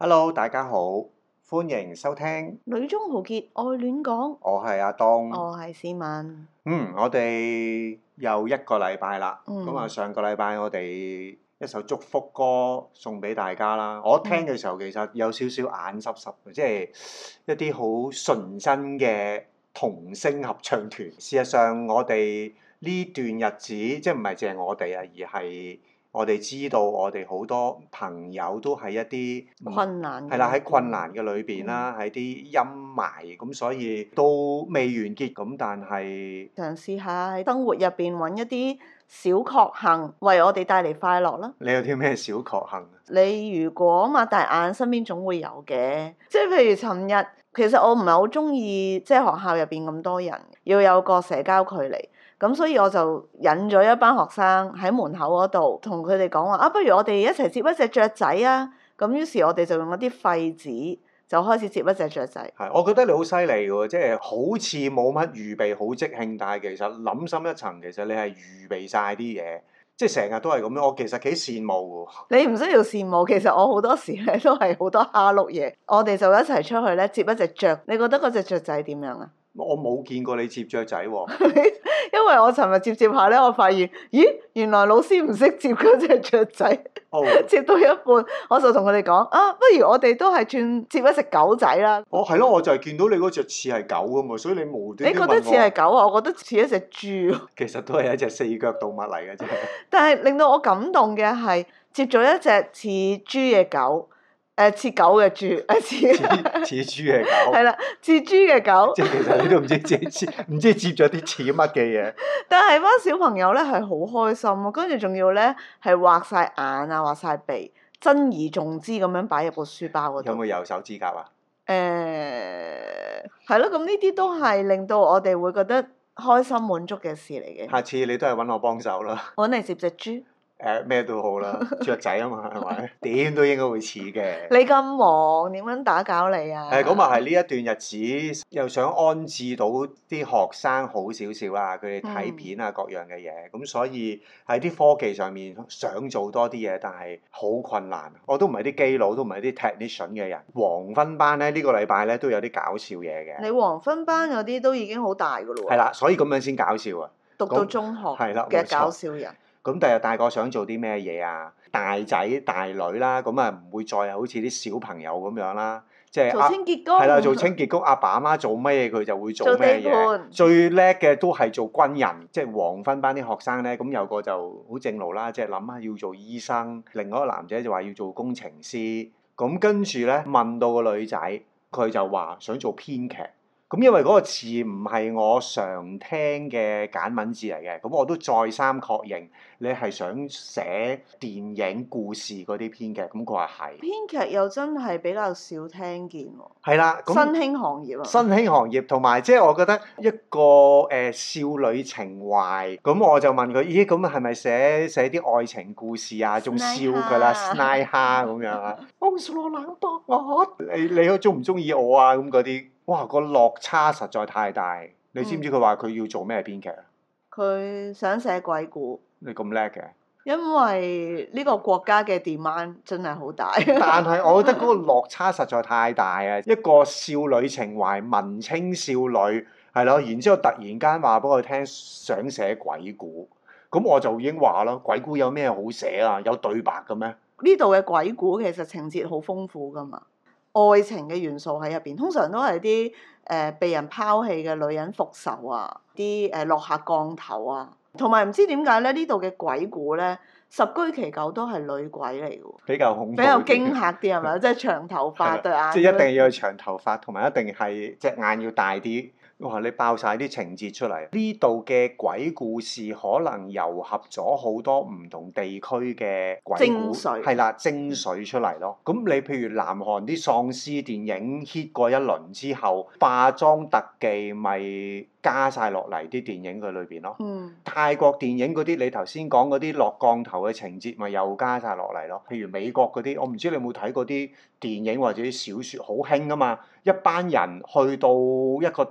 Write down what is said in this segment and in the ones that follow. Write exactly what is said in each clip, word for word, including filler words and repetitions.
Hello，大家好，歡迎收聽女中豪傑愛戀講， 我係阿東。 我係思敏。 嗯，我哋又一個禮拜啦。咁啊、 嗯， 上個禮拜我哋一首祝福歌送俾大家啦。我聽嘅時候其實有少少眼濕濕嘅，即係一啲好純真嘅童聲合唱團。事實上，我哋呢段日子即係唔係淨係我哋啊，而係我哋知道我哋好多朋友都係一啲困難係啦，喺困難嘅裏邊啦，喺啲陰霾咁，所以都未完結咁，但係嘗試下喺生活入邊揾一啲小確幸，為我哋帶嚟快樂啦。 你有啲咩小確幸啊？ 你如果擘大眼，身邊總會有嘅。即係譬如尋日，其實我唔係好中意即係學校入邊咁多人，要有個社交距離。咁所以我就引咗一班學生喺門口嗰度，同佢哋講話啊，不如我哋一齊接一隻雀仔啊！咁於是，我哋就用一啲廢紙，就開始接一隻雀仔。 係，我覺得你好犀利喎，即係好似冇乜預備，好即興，但係其實諗深一層，其實你係預備晒啲嘢，即係成日都係咁樣。我其實幾羨慕喎。 你唔需要羨慕，其實我好多時咧都係好多蝦碌嘢。我哋就一齊出去咧接一隻雀。你覺得嗰隻雀仔點樣啊？ 我冇見過你接雀仔喎。 因為我尋日接接下咧，我發現，咦，原來老師唔識接嗰隻雀仔。 Oh. 接到一半，我就同佢哋講啊，不如我哋都係轉接一隻狗仔啦。 哦，係咯，我就係見到你嗰隻似係狗㗎嘛，所以你無端端問我。 你覺得似係狗啊？我覺得似一隻豬。 其實都係一隻四腳動物嚟嘅啫。 但係令到我感動嘅係接咗一隻似豬嘅狗。誒似、呃、狗嘅豬，誒似似豬嘅狗， 係啦，似豬嘅狗。 即係其實你都唔知接接唔知接咗啲似乜嘅嘢。 但係班小朋友咧係好開心啊，跟住仲要咧係畫晒眼啊，畫晒鼻，珍而重之咁樣擺入個書包嗰度。 有冇右手指甲啊？ 誒係咯，咁呢啲都係令到我哋會覺得開心滿足嘅事嚟嘅。 下次你都係揾我幫手啦。 揾你接隻豬。 誒咩、呃、都好啦，雀仔啊嘛，係咪？點都應該會似嘅。 你咁忙，點樣打攪你啊？ 誒咁啊，係呢一段日子又想安置到啲學生好少少啦，佢哋睇片啊各樣嘅嘢，咁、嗯、所以喺啲科技上面想做多啲嘢，但係好困難。我都唔係啲基佬，都唔係啲 technician 嘅人。黃昏班咧呢、呢個禮拜咧都有啲搞笑嘢嘅。 你黃昏班嗰啲都已經好大㗎咯喎。 係啦，所以咁樣先搞笑啊！ 讀到中學嘅搞笑人。 咁第日大個想做啲咩嘢啊？大仔大女啦，咁啊唔會再好似啲小朋友咁樣啦，即係做清潔工。 係啦，做清潔工，阿爸阿媽做咩嘢佢就會做咩嘢。 做地盤。 最叻嘅都係做軍人，即係黃昏班啲學生咧，咁有個就好正路啦，即係諗下要做醫生，另外一個男仔就話要做工程師，咁跟住咧問到個女仔，佢就話想做編劇。咁因為嗰個詞唔係我常聽嘅簡文字嚟嘅，咁我都再三確認你係想寫電影故事嗰啲編劇，咁佢話係。 編劇又真係比較少聽見喎。 係啦， 新興行業啊。 新興行業同埋即係我覺得一個誒、呃、少女情懷，咁我就問佢：咦，咁係咪寫寫啲愛情故事啊？仲笑佢啦 snide 蝦咁樣啊？我是羅冷博，我你你中唔中意我啊？咁嗰啲。哇！個落差實在太大，你知唔知佢話佢要做咩編劇啊？ 佢、嗯、想寫鬼故。 你咁叻嘅？因為呢個國家嘅 demand 真係好大。 但係我覺得嗰個落差實在太大啊！一個少女情懷、文青少女係咯，然之後突然間話俾我聽想寫鬼故，咁我就已經話咯，鬼故有咩好寫啊？有對白嘅咩？ 呢度嘅鬼故其實情節好豐富㗎嘛。愛情嘅元素喺入邊，通常都係啲誒被人拋棄嘅女人復仇啊，啲誒、呃、落下降頭啊，同埋唔知點解咧？呢度嘅鬼故咧，十居其九都係女鬼嚟嘅喎， 比較恐怖， 比較驚嚇啲係咪？即係長頭髮對眼， 即係一定要有長頭髮，同埋一定係隻眼要大啲。哇！你爆晒啲情節出嚟，呢度嘅鬼故事可能糅合咗好多唔同地區嘅鬼故，係啦，精髓出嚟咯。咁你譬如南韓啲喪屍電影 hit 過一輪之後，化妝特技咪加晒落嚟啲電影佢裏邊咯。 嗯。 泰國電影嗰啲你頭先講嗰啲落降頭嘅情節咪又加晒落嚟咯。譬如美國嗰啲，我唔知你有冇睇過啲電影或者啲小説，好興啊嘛。一班人去到一個地方。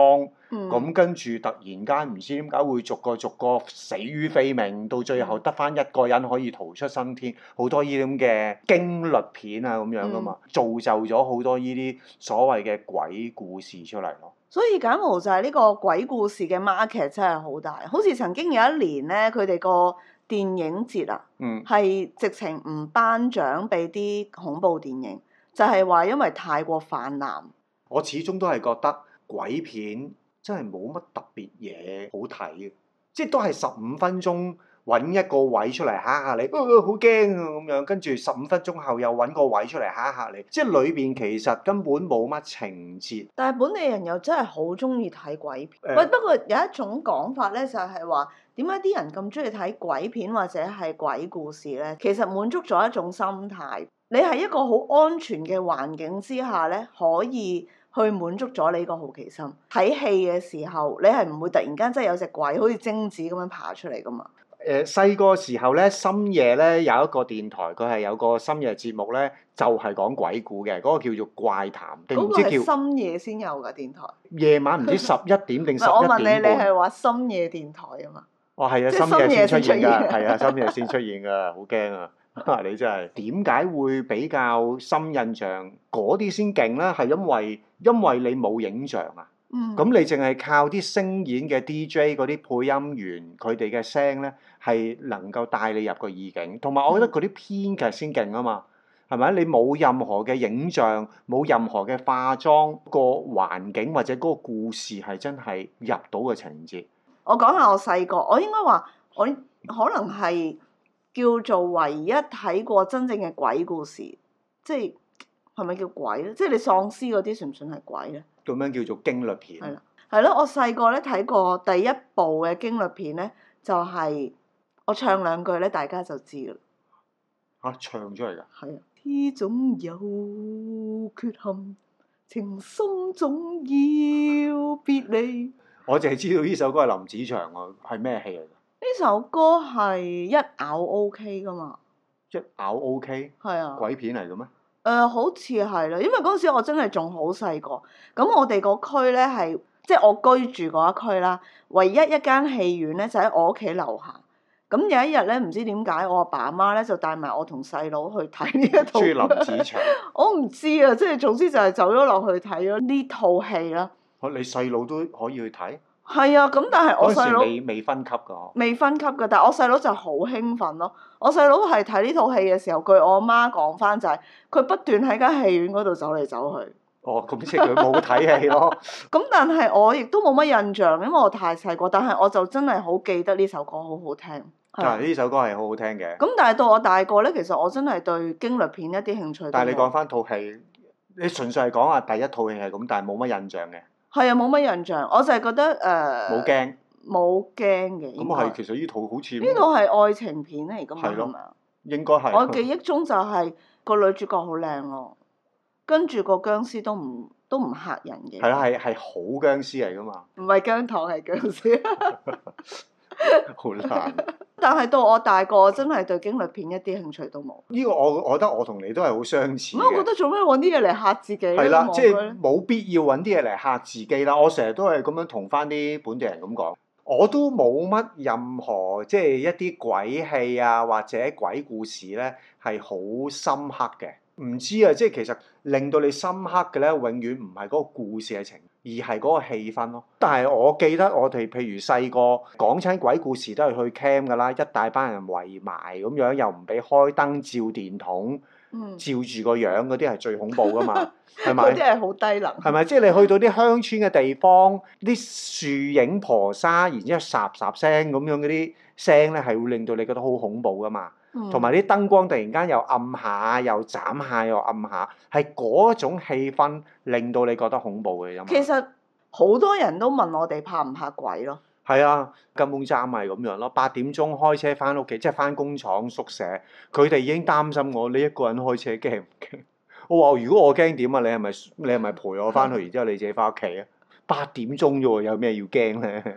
光，咁、 嗯跟住突然間唔知點解會逐個逐個死於非命，到最後得翻一個人可以逃出生天，好多呢啲咁嘅驚慄片啊咁樣噶嘛， 嗯、 造就咗好多呢啲所謂嘅鬼故事出嚟咯。 所以柬埔寨呢個鬼故事嘅 market 真係好大，好似曾經有一年咧，佢哋個電影節啊，係、嗯、直情唔頒獎俾啲恐怖電影，就係、是、話因為太過泛濫。 我始終都係覺得鬼片真係冇乜特別嘢好睇嘅，即係都係十五分鐘揾一個位出嚟嚇下你，好驚啊咁樣，跟住十五分鐘後又揾個位出嚟嚇下你，即係裏邊其實根本冇乜情節。 但係本地人又真係好中意睇鬼片。喂、 呃， 不過有一種講法咧，就係話點解啲人咁中意睇鬼片或者係鬼故事咧？其實滿足咗一種心態，你係一個好安全嘅環境之下咧，可以去滿足咗你個好奇心。睇戲嘅時候，你係唔會突然間真係有隻鬼好似貞子咁樣爬出嚟噶嘛？ 誒細個時候咧，深夜咧有一個電台，佢係有個深夜節目咧，就係、是、講鬼故嘅，嗰、那個叫做怪談定唔知叫。嗰個係深夜先有㗎電台。 夜晚唔知十一點定十一點半。 我問你，你係話深夜電台啊嘛？ 哦，係啊，深夜先出現㗎，係啊，深夜先出現㗎，好驚啊！你真係點解會比較深印象？嗰啲先勁咧，係因為因為你冇影像啊。 嗯。 咁你淨係靠啲聲演嘅 D J 嗰啲配音員佢哋嘅聲咧，係能夠帶你入個意境。同埋我覺得嗰啲編劇先勁啊嘛，係咪？你冇任何嘅影像，冇任何嘅化妝，個環境或者嗰個故事係真係入到嘅情節。 我講下我細個，我應該話我可能係叫做唯一睇過真正嘅鬼故事，即係係咪叫鬼咧？即係你喪屍嗰啲算唔算係鬼咧？ 咁樣叫做驚慄片。 係啦，係咯，我細個咧睇過第一部嘅驚慄片咧，就係、是、我唱兩句咧，大家就知㗎啦。 嚇、啊，唱出嚟㗎？ 係啊。天總有缺陷，情深總要別離。我淨係知道呢首歌係林子祥喎，係咩戲嚟㗎？ 呢首歌係一咬 OK 㗎嘛？ 一咬 OK？ 係啊。 鬼片嚟嘅咩？誒、 呃，好似係啦，因為嗰陣時我真係仲好細個，咁我哋個區咧係即係我居住嗰一區啦，唯一一間戲院咧就喺我屋企樓下。咁有一日咧，唔知點解我阿爸阿媽咧就帶埋我同細佬去睇呢一套。中意林子祥。我唔知啊，即係總之就係走咗落去睇咗呢套戲啦。 你細佬都可以去睇？係啊，咁但係我細佬未未分級㗎。未分級㗎，但係我細佬就好興奮咯。我細佬係睇呢套戲嘅時候，據我媽講翻就係、是、佢不斷喺間戲院嗰度走嚟走去。 哦，咁即係佢冇睇戲咯。 咁但係我亦都冇乜印象，因為我太細個。但係我就真係好記得呢首歌好好聽。 係呢首歌係好好聽嘅。 咁但係到我大個咧，其實我真係對驚慄片一啲興趣。 但係你講翻套戲，你純粹係講話第一套戲係咁，但係冇乜印象嘅。係啊，冇乜印象，我就係覺得誒。 冇驚。 冇驚嘅。 咁係，其實呢套好似。 呢套係愛情片嚟㗎嘛？係咪啊？ 應該係。 我記憶中就係個女主角好靚咯，跟住個僵屍都唔都唔嚇人嘅。 係啦，係係好僵屍嚟㗎嘛。 唔係姜糖，係僵屍。 好難。 但係到我大個，真係對驚慄片一啲興趣都冇。 呢個我我覺得我同你都係好相似嘅。 我覺得做咩揾啲嘢嚟嚇自己咧？ 係啦，即係冇必要揾啲嘢嚟嚇自己啦。我成日都係咁樣同翻啲本地人咁講，我都冇乜任何即係一啲鬼戲啊或者鬼故事咧係好深刻嘅。唔知啊，即係其實令到你深刻嘅咧，永遠唔係嗰個故事嘅情，而係嗰個氣氛咯。但係我記得我哋譬如細個講親鬼故事都係去 camp 㗎啦，一大班人圍埋咁樣，又唔俾開燈照電筒， 嗯、 照住個樣嗰啲係最恐怖㗎嘛，係咪？ 嗰啲係好低能。係咪？即係你去到啲鄉村嘅地方，啲樹影婆沙，然之後霎霎聲咁樣嗰啲聲咧，係會令到你覺得好恐怖㗎嘛。同埋啲燈光突然間又暗下，又斬下，又暗下，係嗰種氣氛令到你覺得恐怖嘅。 其實好多人都問我哋怕唔怕鬼咯。 係啊，根本站係咁樣咯。八點鐘開車翻屋企，即係翻工廠宿舍，佢哋已經擔心我，你一個人開車驚唔驚？我話如果我驚點啊？你係咪你係咪陪我翻去，然之後你自己翻屋企啊？八點鐘啫喎，有咩要驚咧？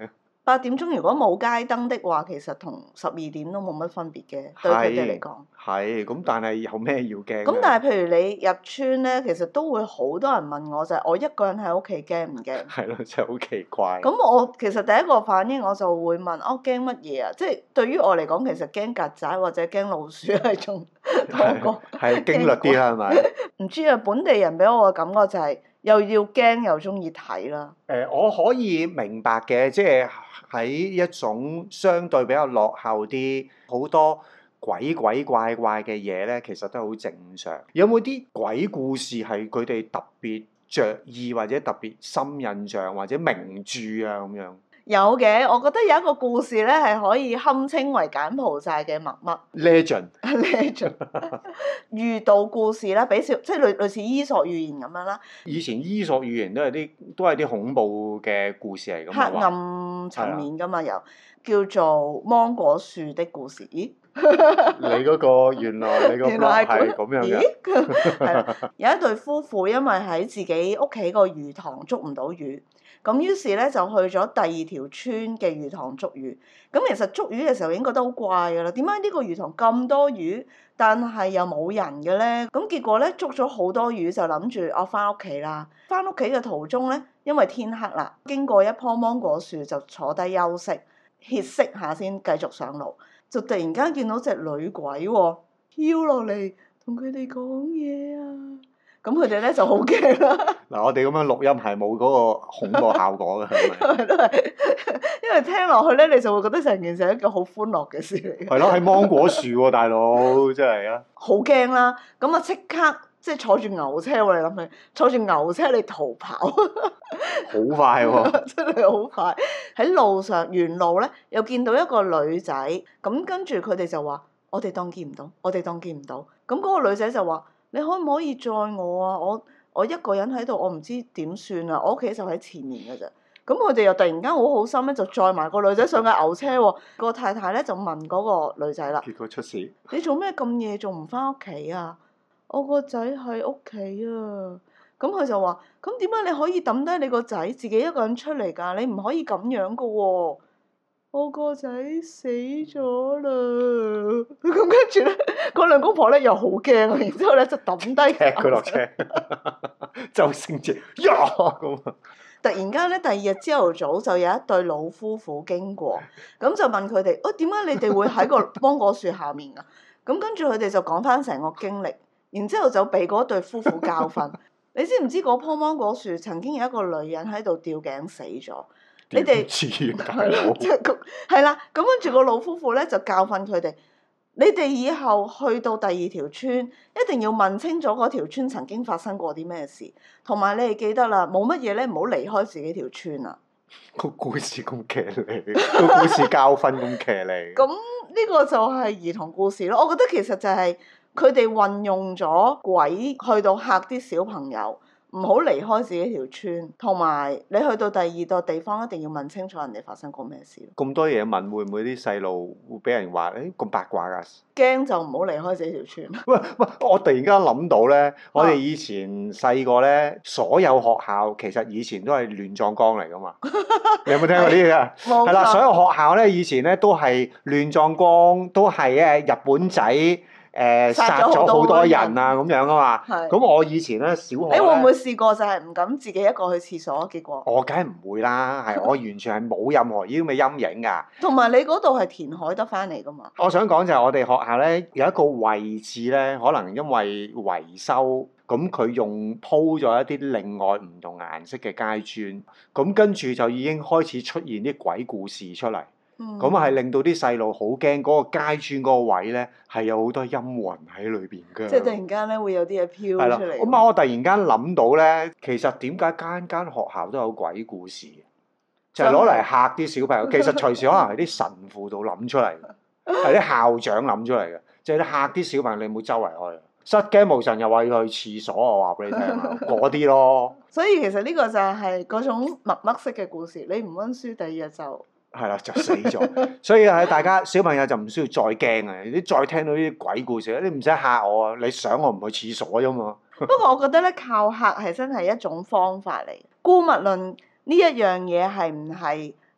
八點鐘如果冇街燈的話，其實同十二點都冇乜分別嘅，對佢哋嚟講。 係，咁但係有咩要驚？ 咁但係譬如你入村咧，其實都會好多人問我就係、是、我一個人喺屋企驚唔驚？ 係咯，真係好奇怪。 咁我其實第一個反應我就會問：我驚乜嘢啊？即係對於我嚟講，其實驚曱甴或者驚老鼠係仲多過係驚慄啲啦，係咪？ 唔知啊，本地人俾我嘅感覺就係、是、又要驚又中意睇啦。 誒、呃，我可以明白嘅，即係喺一種相對比較落後啲，好多鬼鬼怪怪嘅嘢咧，其實都係好正常。有冇啲鬼故事係佢哋特別着意或者特別深印象或者名著啊咁樣？ 有嘅，我覺得有一個故事咧係可以堪稱為柬埔寨嘅陌陌 Legend Legend 寓道故事啦，俾小即係類類似伊索寓言咁樣啦。 以前伊索寓言都係啲都係啲恐怖嘅故事嚟㗎嘛， 黑暗層面㗎嘛，有叫做芒果樹的故事。咦？ 你嗰個原來你個 blog 係咁樣嘅。 咦？係啦，有一對夫婦因為喺自己屋企個魚塘捉唔到魚。咁於是咧就去咗第二條村嘅魚塘捉魚。咁其實捉魚嘅時候已經覺得好怪㗎啦。點解呢個魚塘咁多魚，但係又冇人嘅咧？咁結果咧捉咗好多魚，就諗住我翻屋企啦。翻屋企嘅途中咧，因為天黑啦，經過一棵芒果樹就坐低休息歇息下先，繼續上路。就突然間見到隻女鬼喎、哦，飄落嚟同佢哋講嘢啊！咁佢哋咧就好驚啦。 嗱，我哋咁樣錄音係冇嗰個恐怖效果嘅，係咪？ 都係，因為聽落去咧，你就會覺得成件事係一個好歡樂嘅事嚟嘅。 係咯，喺芒果樹喎、啊，大佬真係啊！ 好驚啦！咁啊，即刻即係坐住牛車喎，你諗下，坐住牛車嚟逃跑，好快喎、啊！ 真係好快。喺路上沿路咧，又見到一個女仔，咁跟住佢哋就話：我哋當見唔到，我哋當見唔到。咁嗰個女仔就話：你可唔可以載我啊？我我一個人喺度，我唔知點算啊！我屋企就喺前面嘅啫。咁佢哋又突然間好好心咧，就載埋個女仔上架牛車喎。個太太咧就問嗰個女仔啦： 結果出事。 你做咩咁夜仲唔翻屋企啊？我個仔喺屋企啊。咁佢就話：咁點解你可以抌低你個仔自己一個人出嚟㗎？你唔可以咁樣噶喎！我個仔死咗啦！咁跟住咧，嗰兩公婆咧又好驚啊！然之後咧就抌低佢落車，周星馳呀咁啊！ 突然間咧，第二日朝頭早就有一對老夫婦經過，咁就問佢哋：哦，點解你哋會喺個芒果樹下面啊？咁跟住佢哋就講翻成個經歷，然之後就俾嗰對夫婦教訓。你知唔知嗰棵芒果樹曾經有一個女人喺度吊頸死咗？你哋係啦，即係咁係啦。咁跟住個老夫婦咧就教訓佢哋：你哋以後去到第二條村，一定要問清楚嗰條村曾經發生過啲咩事，同埋你哋記得啦，冇乜嘢咧，唔好離開自己條村啊！ 個故事咁騎呢，個故事教訓咁騎呢。 咁呢個就係兒童故事咯。我覺得其實就係佢哋運用咗鬼去到嚇啲小朋友。唔好離開自己條村，同埋你去到第二個地方，一定要問清楚人哋發生過咩事。 咁多嘢問，會唔會啲細路會俾人話誒咁八卦㗎？ 驚就唔好離開自己條村。 喂喂，我突然間諗到咧，我哋以前細個咧，所有學校其實以前都係亂葬崗嚟㗎嘛。你有冇聽過呢啲啊？係啦，所有學校咧以前咧都係亂葬崗，都係誒日本仔。誒、呃、殺咗好多人啊咁樣啊嘛，咁我以前咧小學咧， 你會唔會試過就係唔敢自己一個去廁所？結果我梗係唔會啦，係我完全係冇任何呢啲咁嘅陰影㗎。 同埋你嗰度係填海得翻嚟㗎嘛？ 我想講就係我哋學校咧有一個位置咧，可能因為維修，咁佢用鋪咗一啲另外唔同顏色嘅階磚，咁跟住就已經開始出現啲鬼故事出嚟。咁係、嗯、令到啲細路好驚，嗰、嗰個階磚嗰個位咧係有好多陰魂喺裏邊㗎。 即係突然間咧會有啲嘢飄出嚟。 咁啊，我突然間諗到咧，其實點解間間學校都有鬼故事？就係攞嚟嚇啲小朋友。其實隨時可能係啲神父度諗出嚟嘅，係啲校長諗出嚟嘅，就係啲嚇啲小朋友。你唔好周圍去，失驚無神又話要去廁所，我話俾你聽啊，嗰啲咯。所以其實呢個就係嗰種默默式嘅故事。你唔溫書，第二日就〜 係啦，就死咗。所以係大家小朋友就唔需要再驚啊！你再聽到呢啲鬼故事，你唔使嚇我啊！你想我唔去廁所啫嘛。 不過我覺得咧，靠嚇係真係一種方法嚟。姑勿論呢一樣嘢係唔係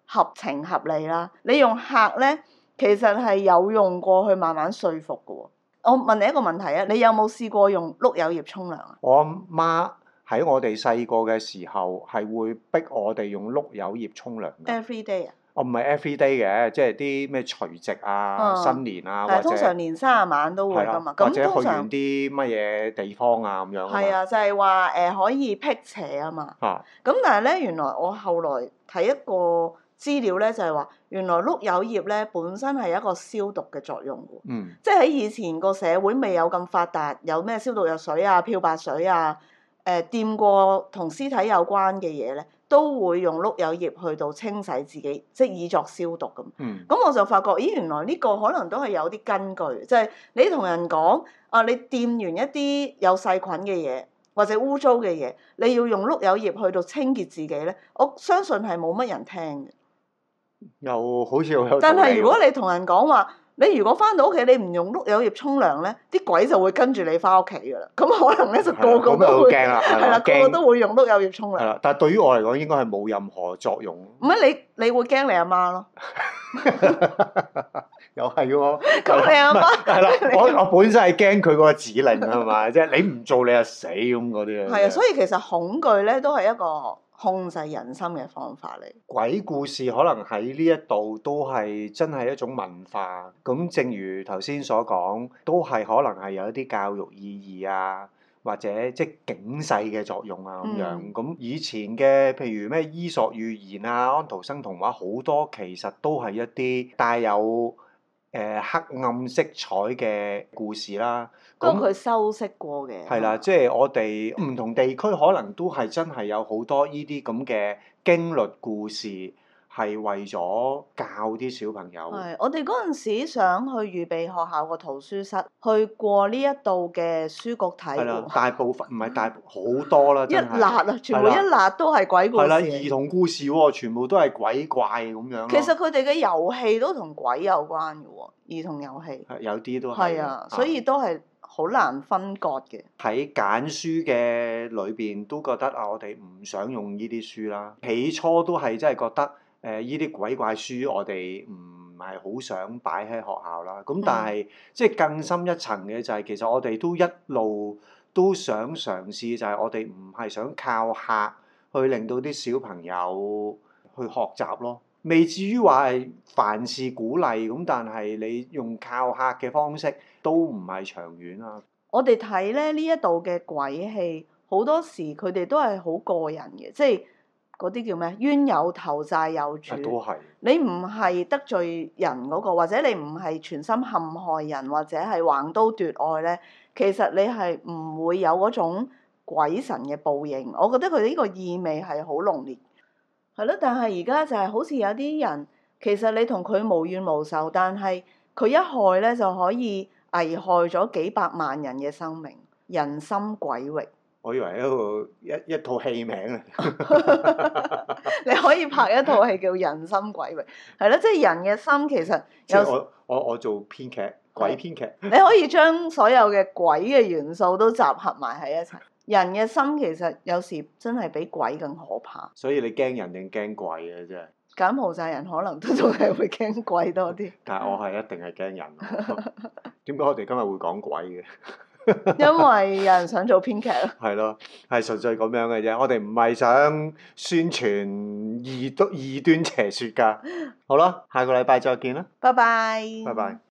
合情合理啦。你用客咧，其實係有用過去慢慢說服嘅喎。我問你一個問題啊，你有冇試過用碌柚葉沖涼啊？ 我阿媽喺我哋細個嘅時候係會逼我哋用碌柚葉沖涼嘅。 Every day 啊？ 我唔係 every day 嘅，即係啲咩除夕啊、 嗯新年啊， 係或者通常年卅晚都會噶嘛。 或者去咁通常完啲乜嘢地方啊咁樣。 係啊，就係話誒可以辟邪啊嘛。 啊！ 咁但係咧，原來我後來睇一個資料咧，就係話原來碌柚葉咧本身係一個消毒嘅作用喎。 嗯。 即係喺以前個社會未有咁發達，有咩消毒藥水啊、漂白水啊，誒掂過同屍體有關嘅嘢咧，都會用碌柚葉去到清洗自己，即係以作消毒咁。 嗯。 咁我就發覺，咦，原來呢個可能都係有啲根據，即係你同人講啊，你掂完一啲有細菌嘅嘢或者污糟嘅嘢，你要用碌柚葉去到清潔自己咧，我相信係冇乜人聽嘅。 又好似好有道理喎。 但係如果你同人講話，你如果翻到屋企你唔用碌柚葉沖涼咧，啲鬼就會跟住你翻屋企㗎啦。咁可能咧就個個都會驚啦， 係啦，個個都會用碌柚葉沖涼。 係啦，但係對於我嚟講應該係冇任何作用。 唔係你你會驚你阿媽咯？ 又係喎。 咁你阿媽係啦，我我本身係驚佢嗰個指令係嘛，即係你唔做你就死咁嗰啲啊。 係啊，所以其實恐懼咧都係一個控制人心嘅方法嚟。 鬼故事可能喺呢一度都係真係一種文化。咁正如頭先所講，都係可能係有一啲教育意義啊，或者即係警世嘅作用啊咁樣。咁、嗯、以前嘅譬如咩伊索寓言啊、安徒生童話，好多其實都係一啲帶有誒、呃、黑暗色彩嘅故事啦。 不過佢修飾過嘅。 係啦，即係我哋唔同地區可能都係真係有好多呢啲咁嘅經律故事，係為咗教啲小朋友。 係，我哋嗰陣時想去預備學校個圖書室，去過呢一度嘅書局睇。係啦，大部分唔係大好多啦，真係。 一辣啊！全部一辣都係鬼故事。 係啦，兒童故事喎，全部都係鬼怪咁樣。 其實佢哋嘅遊戲都同鬼有關嘅喎，兒童遊戲。 係有啲都係。係啊，所以都係好難分割嘅。 喺揀書嘅裏邊都覺得啊，我哋唔想用呢啲書啦。起初都係真係覺得。誒依啲鬼怪書我哋唔係好想擺喺學校啦，咁但係、嗯、即係更深一層嘅就係、是、其實我哋都一路都想嘗試，就係我哋唔係想靠客去令到啲小朋友去學習咯，未至於話係凡事鼓勵咁，但係你用靠客嘅方式都唔係長遠啊。我哋睇咧呢一度嘅鬼戲，好多時佢哋都係好個人嘅，即係。嗰啲叫咩？冤有頭債有主。都係。你唔係得罪人嗰個，或者你唔係全心陷害人，或者係橫刀奪愛咧，其實你係唔會有嗰種鬼神嘅報應。我覺得佢呢個意味係好濃烈。係咯，但係而家就係好似有啲人，其實你同佢無怨無仇，但係佢一害咧就可以危害咗幾百萬人嘅生命，人心鬼域。我以為一個一一套戲名嚟，你可以拍一套戲叫《人心鬼域》，係咯，即係人嘅心其實有。即係我我我做編劇，鬼編劇。你可以將所有嘅鬼嘅元素都集合埋喺一齊。人嘅心其實有時真係比鬼更可怕。所以你驚人定驚鬼啊？真係。柬埔寨人可能都仲係會驚鬼多啲。但係我係一定係驚人。點解我哋今日會講鬼嘅？因為有人想做編劇咯，係咯，係純粹咁樣嘅啫。我哋唔係想宣傳異端異端邪説㗎。好啦，下個禮拜再見啦。拜拜。拜拜。